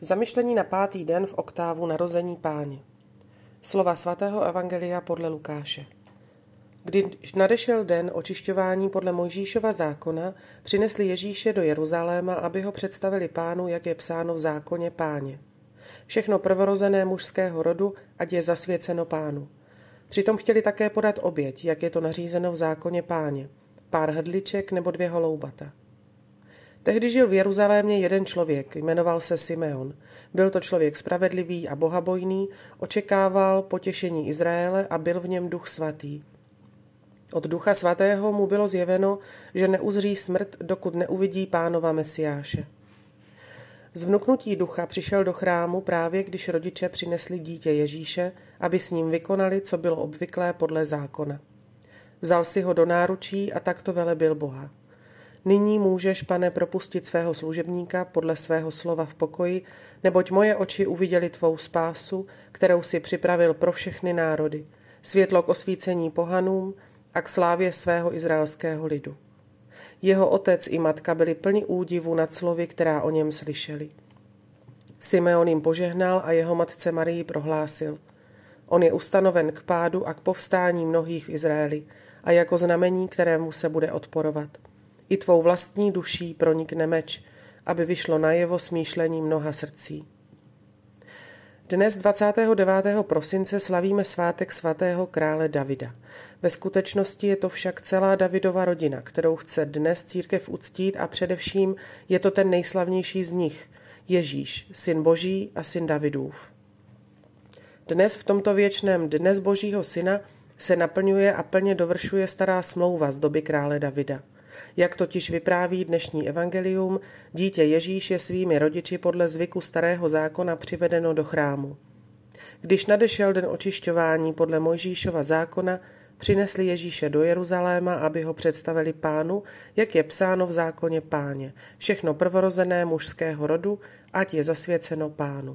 Zamyšlení na 5. den v oktávu narození Páně. Slova svatého evangelia podle Lukáše. Když nadešel den očišťování podle Mojžíšova zákona, přinesli Ježíše do Jeruzaléma, aby ho představili Pánu, jak je psáno v zákoně Páně. Všechno prvorozené mužského rodu, ať je zasvěceno Pánu. Přitom chtěli také podat oběť, jak je to nařízeno v zákoně Páně, pár hrdliček nebo 2 holoubata. Tehdy žil v Jeruzalémě jeden člověk, jmenoval se Simeon. Byl to člověk spravedlivý a bohabojný, očekával potěšení Izraele a byl v něm Duch svatý. Od Ducha svatého mu bylo zjeveno, že neuzří smrt, dokud neuvidí Pánova Mesiáše. Z vnuknutí ducha přišel do chrámu právě, když rodiče přinesli dítě Ježíše, aby s ním vykonali, co bylo obvyklé podle zákona. Vzal si ho do náručí a takto velebil Boha. Nyní můžeš, Pane, propustit svého služebníka podle svého slova v pokoji, neboť moje oči uviděly tvou spásu, kterou si připravil pro všechny národy, světlo k osvícení pohanům a k slávě svého izraelského lidu. Jeho otec i matka byli plni údivu nad slovy, která o něm slyšeli. Simeon jim požehnal a jeho matce Marii prohlásil: On je ustanoven k pádu a k povstání mnohých v Izraeli a jako znamení, kterému se bude odporovat. I tvou vlastní duší pronikne meč, aby vyšlo najevo smýšlení mnoha srdcí. Dnes 29. prosince slavíme svátek svatého krále Davida. Ve skutečnosti je to však celá Davidova rodina, kterou chce dnes církev uctít a především je to ten nejslavnější z nich, Ježíš, syn Boží a syn Davidův. Dnes v tomto věčném dnes Božího syna se naplňuje a plně dovršuje stará smlouva z doby krále Davida. Jak totiž vypráví dnešní evangelium, dítě Ježíš je svými rodiči podle zvyku starého zákona přivedeno do chrámu. Když nadešel den očišťování podle Mojžíšova zákona, přinesli Ježíše do Jeruzaléma, aby ho představili Pánu, jak je psáno v zákoně Páně, všechno prvorozené mužského rodu, ať je zasvěceno Pánu.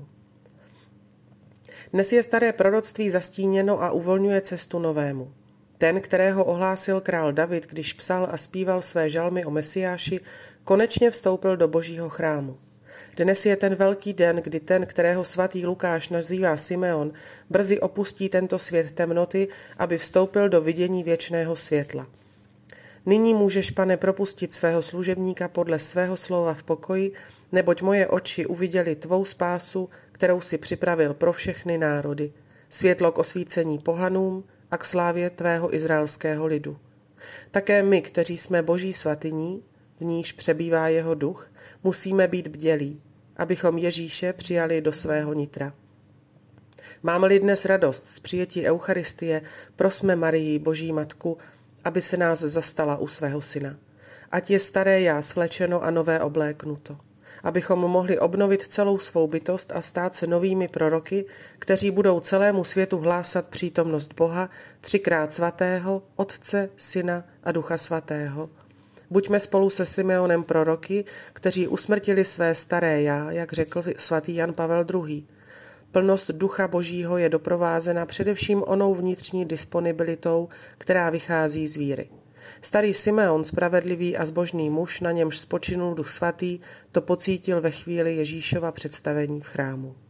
Dnes je staré proroctví zastíněno a uvolňuje cestu novému. Ten, kterého ohlásil král David, když psal a zpíval své žalmy o Mesiáši, konečně vstoupil do Božího chrámu. Dnes je ten velký den, kdy ten, kterého svatý Lukáš nazývá Simeon, brzy opustí tento svět temnoty, aby vstoupil do vidění věčného světla. Nyní můžeš, Pane, propustit svého služebníka podle svého slova v pokoji, neboť moje oči uviděly tvou spásu, kterou si připravil pro všechny národy, světlo k osvícení pohanům a k slávě tvého izraelského lidu. Také my, kteří jsme Boží svatyní, v níž přebývá jeho duch, musíme být bdělí, abychom Ježíše přijali do svého nitra. Máme-li dnes radost z přijetí Eucharistie, prosme Marii, Boží matku, aby se nás zastala u svého syna. Ať je staré já svlečeno a nové obléknuto. Abychom mohli obnovit celou svou bytost a stát se novými proroky, kteří budou celému světu hlásat přítomnost Boha, 3krát svatého, Otce, Syna a Ducha svatého. Buďme spolu se Simeonem proroky, kteří usmrtili své staré já, jak řekl svatý Jan Pavel II. Plnost Ducha Božího je doprovázena především onou vnitřní disponibilitou, která vychází z víry. Starý Simeon, spravedlivý a zbožný muž, na němž spočinul Duch svatý, to pocítil ve chvíli Ježíšova představení v chrámu.